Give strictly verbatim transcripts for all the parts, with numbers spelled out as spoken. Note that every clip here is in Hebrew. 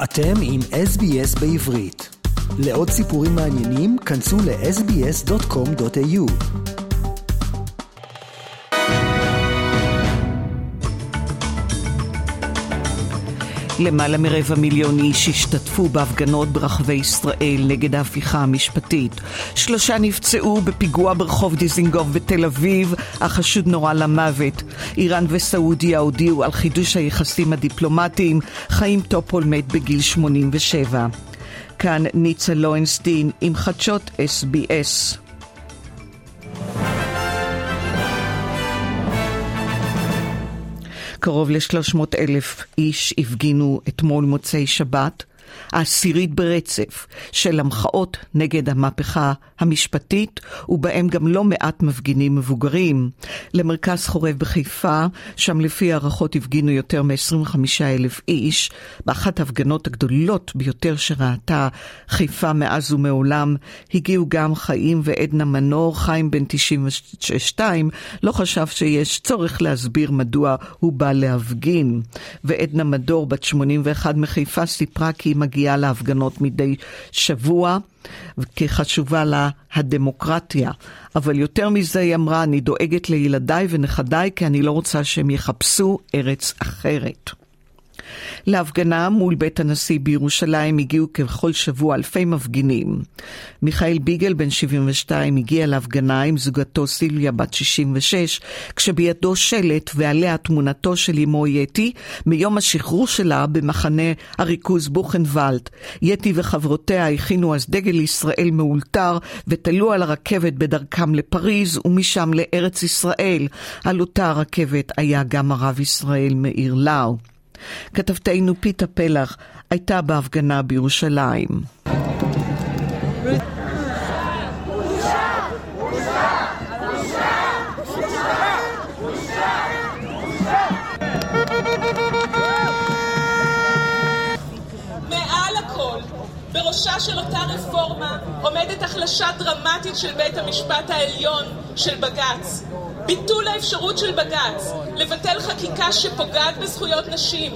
אתם עם אס בי אס בעברית. לעוד סיפורים מעניינים, כנסו ל אס בי אס דוט קום דוט איי יו. למעלה מרבע מיליון איש השתתפו בהפגנות ברחבי ישראל נגד ההפיכה המשפטית. שלושה נפצעו בפיגוע ברחוב דיזינגוף בתל אביב, החשוד נורה למוות. איראן וסעודיה הודיעו על חידוש היחסים הדיפלומטיים. חיים טופול מת בגיל שמונים ושבע. כאן ניצה לוינסטין עם חדשות אס בי אס. קרוב ל-שלוש מאות אלף איש הפגינו אתמול מוצאי שבת, העשירית ברצף של המחאות נגד המהפכה המשפטית, ובהם גם לא מעט מפגינים מבוגרים. למרכז חורב בחיפה, שם לפי הערכות הפגינו יותר מ-עשרים וחמישה אלף איש, באחת ההפגנות הגדולות ביותר שראתה חיפה מאז ומעולם. הגיעו גם חיים ועדנה מנור. חיים בן תשעים ושתיים לא חשב שיש צורך להסביר מדוע הוא בא להפגין, ועדנה מדור בת שמונים ואחת מחיפה סיפרה כי היא מגיעה להפגנות מדי שבוע כי חשובה לה הדמוקרטיה, אבל יותר מזה היא אמרה, אני דואגת לילדיי ונכדיי כי אני לא רוצה שהם יחפשו ארץ אחרת. להפגנה מול בית הנשיא בירושלים הגיעו ככל שבוע אלפי מפגינים. מיכאל ביגל בן שבעים ושתיים הגיע להפגנה עם זוגתו סיליה בת שישים ושש, כשבידו שלט ועליה תמונתו של אמו יתי מיום השחרור שלה במחנה הריכוז בוכנוולד. יתי וחברותיה הכינו אז דגל ישראל מאולתר ותלו על הרכבת בדרכם לפריז ומשם לארץ ישראל. על אותה הרכבת היה גם הרב ישראל מאיר לאו. כתבתנו פיתה פלח הייתה בהפגנה בירושלים. מעל הכל, בראשה של אותה רפורמה עומדת החלשה דרמטית של בית המשפט העליון של בג"ץ. ביטול האפשרות של בג"ץ לבטל חקיקה שפוגעת בזכויות נשים.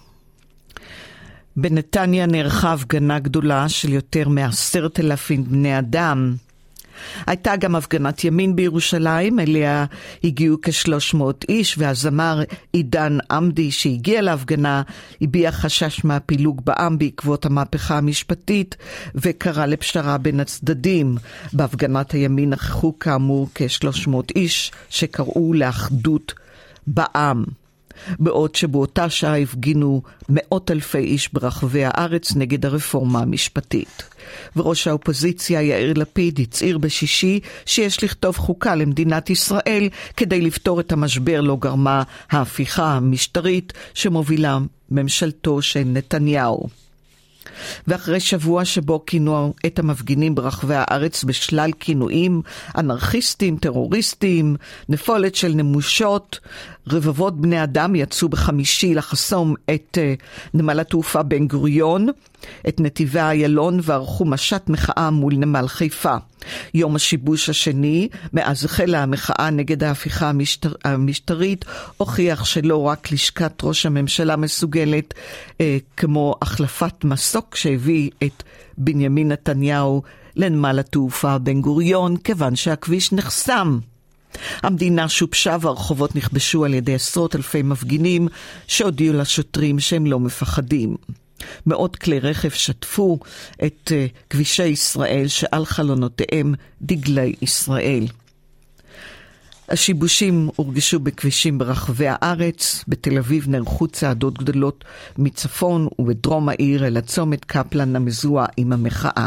בנתניה נערכה הפגנה גדולה של יותר מעשרת אלפים בני אדם. הייתה גם הפגנת ימין בירושלים, אליה הגיעו כשלוש מאות איש, והזמר עידן עמדי שהגיע להפגנה הביע חשש מהפילוג בעם בעקבות המהפכה המשפטית וקרא לפשרה בין הצדדים. בהפגנת הימין נכחו כאמור כשלוש מאות איש שקראו לאחדות בעם. בעוד שבאותה שעה הפגינו מאות אלפי איש ברחבי הארץ נגד הרפורמה המשפטית. וראש האופוזיציה יאיר לפיד הצהיר בשישי שיש לכתוב חוקה למדינת ישראל כדי לפתור את המשבר לא גרמה ההפיכה המשטרית שמובילה ממשלתו של נתניהו. ואחרי שבוע שבו כינו את המפגינים ברחבי הארץ בשלל כינויים, אנרכיסטים, טרוריסטים, נפולת של נמושות, רבבות בני אדם יצאו בחמישי לחסום את uh, נמל התעופה בן גוריון, את נתיבי איילון, וערכו משט מחאה מול נמל חיפה. יום השיבוש השני, מאז החלה המחאה נגד ההפיכה המשטר, המשטרית, הוכיח שלא רק לשכת ראש הממשלה מסוגלת, אה, כמו החלפת מסוק שהביא את בנימין נתניהו לנמל התעופה בן גוריון, כיוון שהכביש נחסם. המדינה שופשה והרחובות נכבשו על ידי עשרות אלפי מפגינים שהודיעו לשוטרים שהם לא מפחדים. מאות כלי רכב שטפו את uh, כבישי ישראל שעל חלונותיהם דגלי ישראל. השיבושים הורגשו בכבישים ברחבי הארץ. בתל אביב נערכו צעדות גדולות מצפון ובדרום העיר אל הצומת קפלן המזוהה עם המחאה.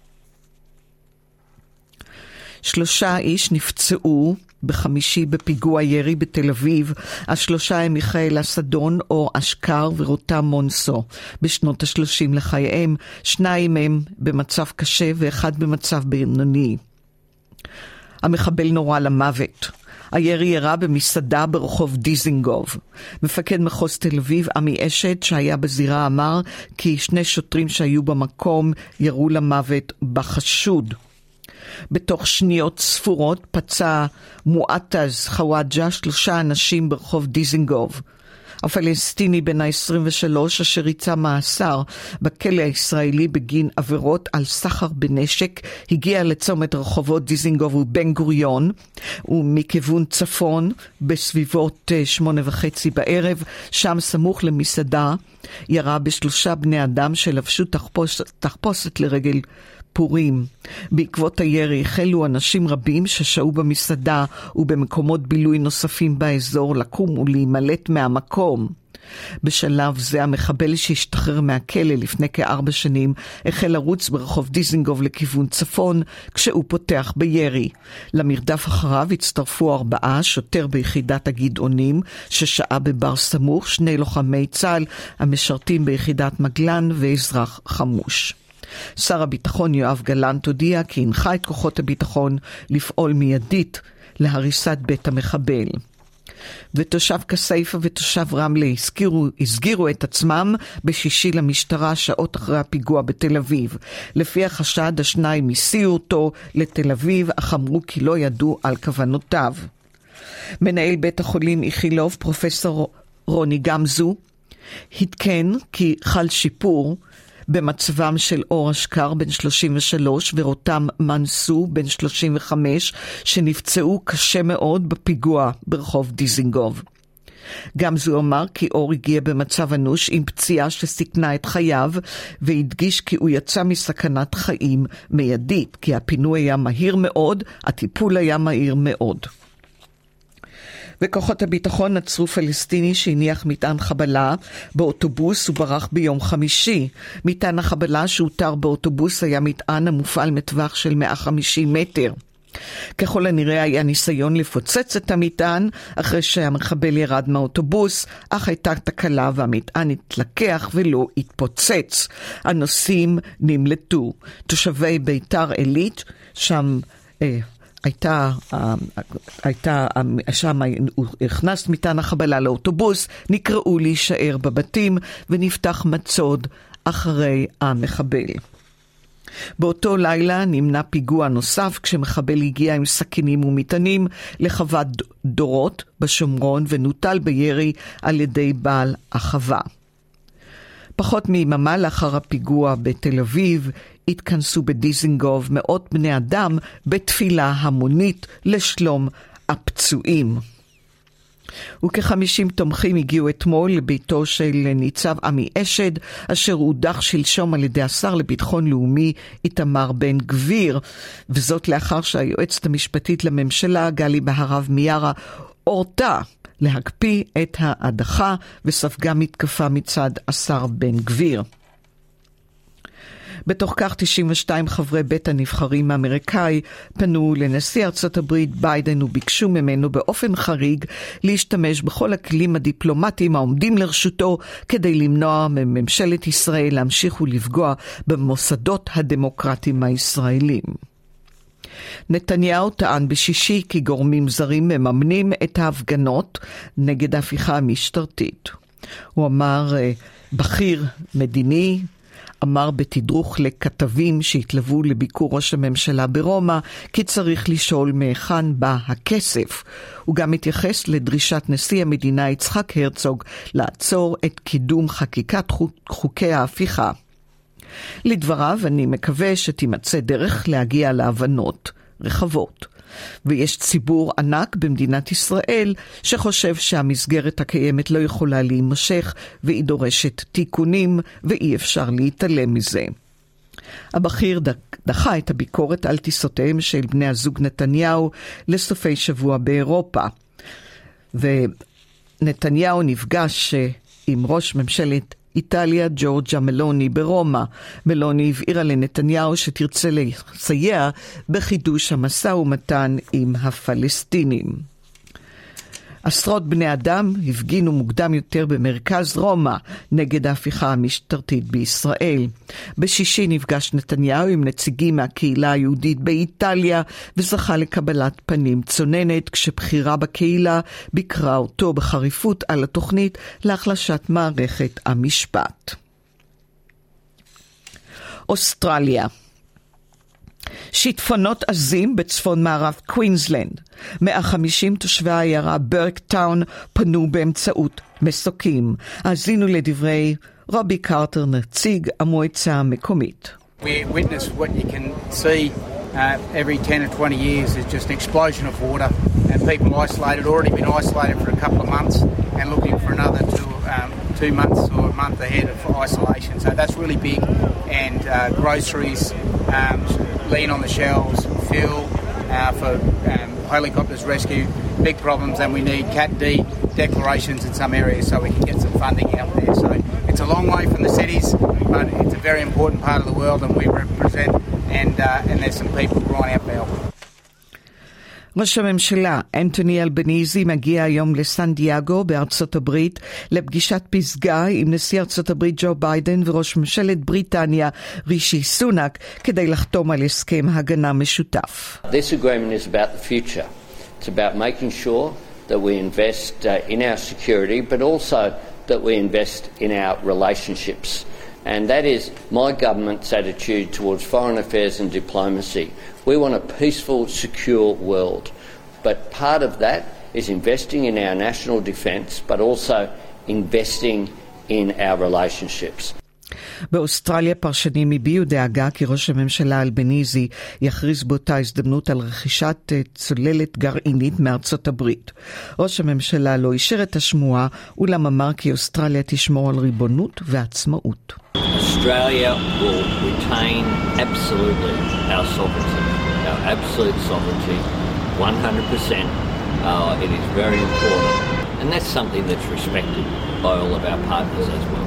שלושה איש נפצעו בחמישי בפיגוע ירי בתל אביב. השלושה הם מיכאל אסדון, אור אשכר ורותם מונסו, בשנות השלושים לחייהם. שניים הם במצב קשה ואחד במצב בינוני. המחבל נורה למוות. הירי ירה במסעדה ברחוב דיזינגוף. מפקד מחוז תל אביב עמי אשת שהיה בזירה אמר כי שני שוטרים שהיו במקום ירו למוות בחשוד. בתוך שניות ספורות פצע מועטז חוואג'ה שלושה אנשים ברחוב דיזינגוף. הפלסטיני בן ה-עשרים ושלוש אשר ריצה מאסר בכלא הישראלי בגין עבירות על סחר בנשק הגיע לצומת רחובות דיזינגוף ובן גוריון ומכיוון צפון בסביבות שמונה וחצי בערב, שם סמוך למסעדה ירה בשלושה בני אדם שלבשו תחפושת, תחפושת לרגל פורים. בעקבות הירי החלו אנשים רבים ששהו במסעדה ובמקומות בילוי נוספים באזור לקום ולהימלט מהמקום. בשלב זה המחבל שהשתחרר מהכלא לפני כארבע שנים החל לרוץ ברחוב דיזינגוף לכיוון צפון כשהוא פותח בירי. למרדף אחריו הצטרפו ארבעה, שוטר ביחידת הגדעונים ששעה בבר סמוך, שני לוחמי צה"ל המשרתים ביחידת מגלן ואזרח חמוש. שר הביטחון יואב גלנט הודיע כי הנחה את כוחות הביטחון לפעול מיידית להריסת בית המחבל. ותושב כסייפה ותושב רמלה הסגירו, הסגירו את עצמם בשישי למשטרה שעות אחרי הפיגוע בתל אביב. לפי החשד השניים הסיעו אותו לתל אביב, אך אמרו כי לא ידעו על כוונותיו. מנהל בית החולים איכילוב פרופסור רוני גמזו התקן כי חל שיפור במצבם של אור אשכר בן שלושים ושלוש ורותם מנסו בן שלושים וחמש שנפצעו קשה מאוד בפיגוע ברחוב דיזינגוף. גם זו אמר כי אור הגיע במצב אנוש עם פציעה שסיכנה את חייו והדגיש כי הוא יצא מסכנת חיים מיידית, כי הפינוי היה מהיר מאוד, הטיפול היה מהיר מאוד. וכוחות הביטחון עצרו פלסטיני שהניח מטען חבלה באוטובוס וברח ביום חמישי. מטען החבלה שהותר באוטובוס היה מטען המופעל מטווח של מאה וחמישים מטר. ככל הנראה היה ניסיון לפוצץ את המטען אחרי שהמחבל ירד מהאוטובוס, אך הייתה תקלה והמטען התלקח ולא התפוצץ. הנוסעים נמלטו. תושבי ביתר עילית, שם אה, הייתה, הייתה, שם הכנס מטען החבלה לאוטובוס, נקראו להישאר בבתים ונפתח מצוד אחרי המחבל. באותו לילה נמנע פיגוע נוסף כשמחבל הגיע עם סכינים ומטענים לחוות דורות בשומרון ונוטל בירי על ידי בעל החווה. פחות מיממה לאחר הפיגוע בתל אביב התכנסו בדיזינגוף מאות בני אדם בתפילה המונית לשלום הפצועים. וכ-חמישים תומכים הגיעו אתמול לביתו של ניצב עמי אשד, אשר הודח שלשום על ידי השר לביטחון לאומי איתמר בן גביר, וזאת לאחר שהיועצת המשפטית לממשלה גלי בהרב מיארה הורתה להקפיא את ההדחה וספגה מתקפה מצד השר בן גביר. בתוך כך תשעים ושתיים חברי בית הנבחרים האמריקאי פנו לנשיא ארצות הברית ביידן וביקשו ממנו באופן חריג להשתמש בכל הכלים הדיפלומטיים העומדים לרשותו כדי למנוע מממשלת ישראל להמשיך ולפגוע במוסדות הדמוקרטיים הישראלים. נתניהו טען בשישי כי גורמים זרים מממנים את ההפגנות נגד ההפיכה המשטרתית. הוא אמר, בכיר מדיני, אמר בתדרוך לכתבים שהתלוו לביקור ראש הממשלה ברומא כי צריך לשאול מהיכן בא הכסף. הוא גם התייחס לדרישת נשיא המדינה יצחק הרצוג לעצור את קידום חקיקת חוקי ההפיכה. לדבריו, אני מקווה שתימצא דרך להגיע להבנות רחבות. ויש ציבור ענק במדינת ישראל שחושב שהמסגרת הקיימת לא יכולה להימשך והיא דורשת תיקונים ואי אפשר להתעלם מזה. הבכיר דחה את הביקורת על טיסותיהם של בני הזוג נתניהו לסופי שבוע באירופה. ונתניהו נפגש עם ראש ממשלת איטליה ג'ורג'ה מלוני ברומא. מלוני הבהירה לנתניהו שתרצה לסייע בחידוש המשא ומתן עם הפלסטינים. עשרות בני אדם הפגינו מוקדם יותר במרכז רומא נגד ההפיכה המשטרתית בישראל. בשישי נפגש נתניהו עם נציגים מהקהילה היהודית באיטליה וזכה לקבלת פנים צוננת, כשבחירה בקהילה ביקרה אותו בחריפות על התוכנית להחלשת מערכת המשפט. אוסטרליה. שיטפונות עזים בצפון מערב קווינסלנד. מאה וחמישים תושבי העיירה ברקטאון פנו באמצעות מסוקים. האזינו לדברי רובי קרטר, נציג המועצה המקומית. We witness what you can see uh, every ten or twenty years is just an explosion of water and people isolated, already been isolated for a couple of months and looking for another two, um, two months or a month ahead of isolation. So that's really big. And uh, groceries, um, lean on the shelves, fuel uh, for um, helicopters rescue, big problems, and we need Cat D declarations in some areas so we can get some funding out there. So it's a long way from the cities, but it's a very important part of the world and we represent, and, uh, and there's some people crying out for help. ראש הממשלה אנטוני אלבניזי מגיע היום לסן דייגו בארצות הברית לפגישת פסגה עם נשיא ארצות הברית ג'ו ביידן וראש ממשלת בריטניה רישי סונאק כדי לחתום על הסכם הגנה משותף. This agreement is about the future. It's about making sure that we invest uh, in our security but also that we invest in our relationships. And that is my government's attitude towards foreign affairs and diplomacy. We want a peaceful, secure world. But part of that is investing in our national defence, but also investing in our relationships. באוסטרליה פרשנים הביעו דאגה כי ראש הממשלה אלבניזי יכריז באותה הזדמנות על רכישת צוללת גרעינית מארצות הברית. ראש הממשלה לא אישר את השמועה, אולם אמר כי אוסטרליה תשמור על ריבונות ועצמאות. Australia will retain absolutely our sovereignty, our absolute sovereignty, one hundred percent. Uh, it is very important, and that's something that's respected by all of our partners as well.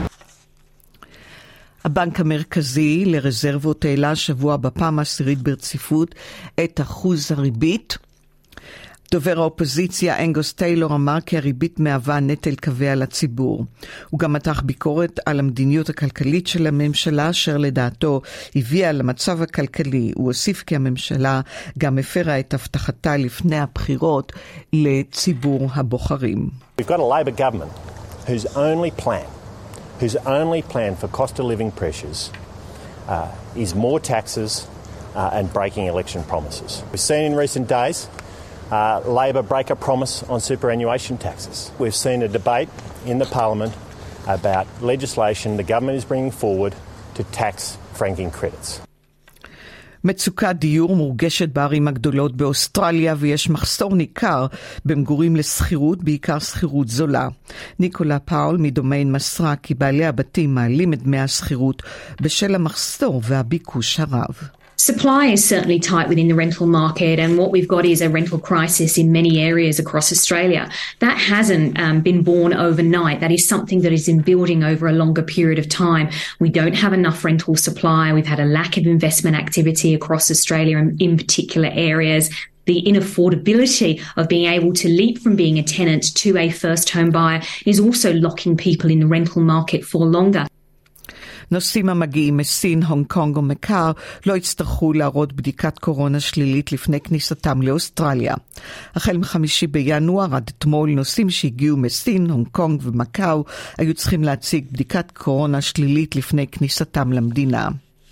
הבנק המרכזי לרזרבות העלה השבוע בפעם העשירית ברציפות את אחוז הריבית. דובר האופוזיציה אנגוס טיילור אמר כי הריבית מהווה נטל כבד על הציבור. הוא גם מתח ביקורת על המדיניות הכלכלית של הממשלה, אשר לדעתו הביאה למצב הכלכלי. הוא הוסיף כי הממשלה גם הפרה את הבטחתה לפני הבחירות לציבור הבוחרים. We've got a Labor government whose only plan whose only plan for cost of living pressures uh, is more taxes uh, and breaking election promises. We've seen in recent days uh, Labor break a promise on superannuation taxes. We've seen a debate in the Parliament about legislation the government is bringing forward to tax franking credits. מצוקת דיור מורגשת בערים הגדולות באוסטרליה ויש מחסור ניכר במגורים לסחירות, בעיקר סחירות זולה. ניקולה פאול מדומיין מסרה כי בעלי הבתים מעלים את דמי הסחירות בשל המחסור והביקוש הרב. Supply is certainly tight within the rental market, and what we've got is a rental crisis in many areas across Australia. That hasn't um, been born overnight. That is something that has been building over a longer period of time. We don't have enough rental supply. We've had a lack of investment activity across Australia in, in particular areas. The inaffordability of being able to leap from being a tenant to a first home buyer is also locking people in the rental market for longer. נוסעים המגיעים מסין, הונג קונג ומקאו לא יצטרכו להראות בדיקת קורונה שלילית לפני כניסתם לאוסטרליה. החל מחמישי בינואר עד אתמול נוסעים שהגיעו מסין, הונג קונג ומקאו היו צריכים להציג בדיקת קורונה שלילית לפני כניסתם למדינה.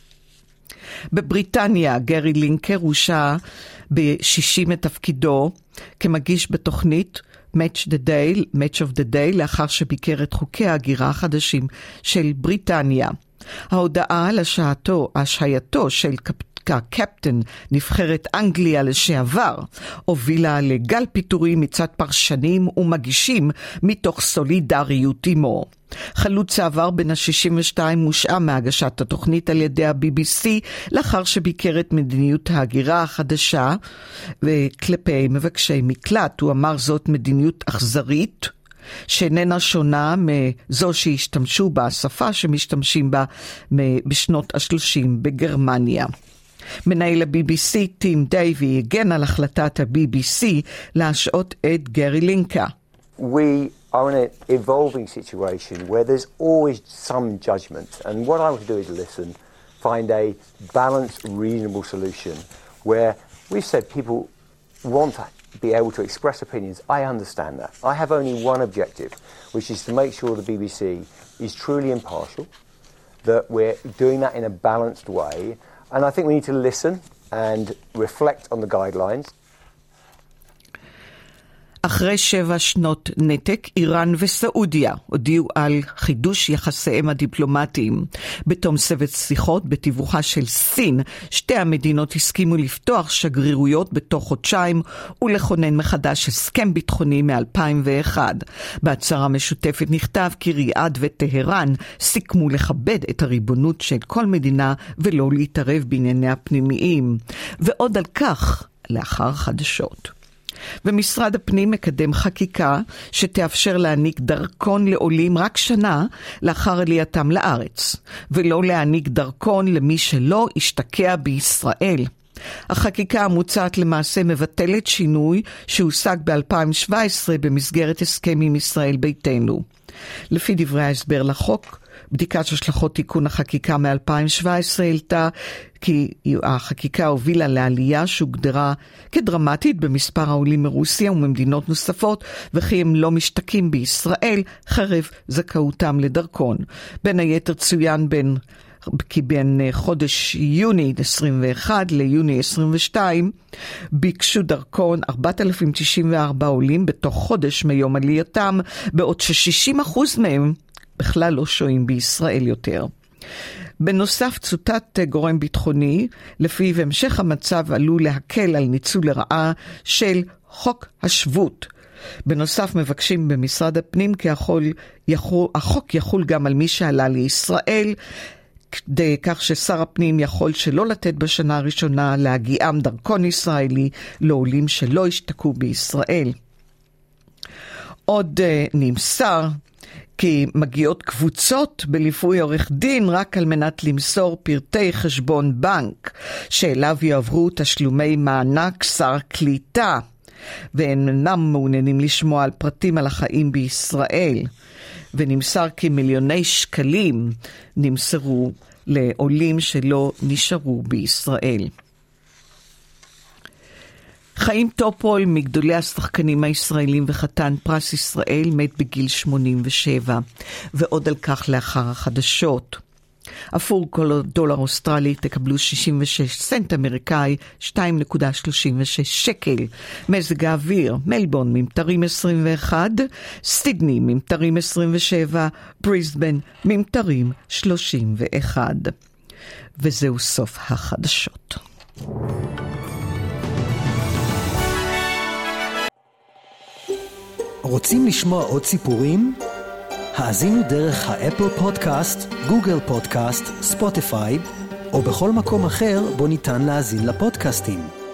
בבריטניה גרי לינקר הושע ב-שישים מתפקידו כמגיש בתוכנית Match the Day, Match of the Day, לאחר שביקר את חוקי ההגירה החדשים של בריטניה. ההודעה על השעתו, השעייתו של קפטן נבחרת אנגליה לשעבר, הובילה לגל פיטורים מצד פרשנים ומגישים מתוך סולידריות עמו. חלוץ העבר בן ה-שישים ושתיים מושעה מהגשת התוכנית על ידי ה-בי בי סי לאחר שביקר את מדיניות ההגירה החדשה וכלפי מבקשי מקלט. הוא אמר זאת מדיניות אכזרית שאיננה שונה מזו שהשתמשו בה, השפה שמשתמשים בה בשנות ה-שלושים בגרמניה. מנהל ה-בי בי סי טים דייבי הגן על החלטת ה-בי בי סי להשעות את גרי לינקה. We are in an evolving situation where there's always some judgment, and what I want to do is listen, find a balanced, reasonable solution where we've said people want to be able to express opinions. I understand that. I have only one objective, which is to make sure the B B C is truly impartial, that we're doing that in a balanced way, and I think we need to listen and reflect on the guidelines. אחרי שבע שנות נתק, איראן וסעודיה הודיעו על חידוש יחסיהם הדיפלומטיים. בתום סבב שיחות בתיווכה של סין, שתי המדינות הסכימו לפתוח שגרירויות בתוך חודשיים ולכונן מחדש הסכם ביטחוני מ-אלפיים ואחת. בהצהרה משותפת נכתב כי ריאד וטהרן סיכמו לכבד את הריבונות של כל מדינה ולא להתערב בענייניה הפנימיים. ועוד על כך לאחר חדשות. ומשרד הפנים מקדם חקיקה שתאפשר להעניק דרכון לעולים רק שנה לאחר עלייתם לארץ, ולא להעניק דרכון למי שלא השתקע בישראל. החקיקה המוצעת למעשה מבטלת שינוי שהושג ב-אלפיים שבע עשרה במסגרת הסכם עם ישראל ביתנו. לפי דברי ההסבר לחוק, בדיקת השלכות תיקון החקיקה מ-אלפיים שבע עשרה העלתה כי החקיקה הובילה לעלייה שהוגדרה כדרמטית במספר העולים מרוסיה וממדינות נוספות, וכי הם לא משתקים בישראל חרף זכאותם לדרכון. בין היתר צוין בין כי בין חודש יוני עשרים ואחת ליוני עשרים ושתיים ביקשו דרכון ארבעת אלפים תשעים וארבעה עולים בתוך חודש מיום עלייתם, בעוד ש-שישים אחוז מהם בכלל לא שוהים בישראל יותר. בנוסף, צוטט גורם ביטחוני, לפיו המשך המצב עלול להקל על ניצול לרעה של חוק השבות. בנוסף, מבקשים במשרד הפנים כי החול, יחול, החוק יחול גם על מי שעלה לישראל, כדי כך ששר הפנים יכול שלא לתת בשנה הראשונה להגיעם דרכון ישראלי לעולים שלא השתקעו בישראל. עוד uh, נמסר כי מגיעות קבוצות בליווי עורך דין רק על מנת למסור פרטי חשבון בנק שאליו יעברו תשלומי מענק שר קליטה, והם אינם מעוניינים לשמוע על פרטים על החיים בישראל. ונמסר כי מיליוני שקלים נמסרו לעולים שלא נשארו בישראל. חיים טופול, מגדולי השחקנים הישראלים וחתן פרס ישראל, מת בגיל שמונים ושבע, ועוד על כך לאחר החדשות. עבור כל דולר אוסטרלי תקבלו שישים ושש סנט אמריקאי, שתיים נקודה שלושים ושש שקל. מזג האוויר, מלבורן ממטרים עשרים ואחת, סידני ממטרים עשרים ושבע, בריסבן ממטרים שלושים ואחת. וזהו סוף החדשות. רוצים לשמוע עוד סיפורים? האזינו דרך האפל פודקאסט, גוגל פודקאסט, ספוטיפיי, או בכל מקום אחר בו ניתן להאזין לפודקאסטים.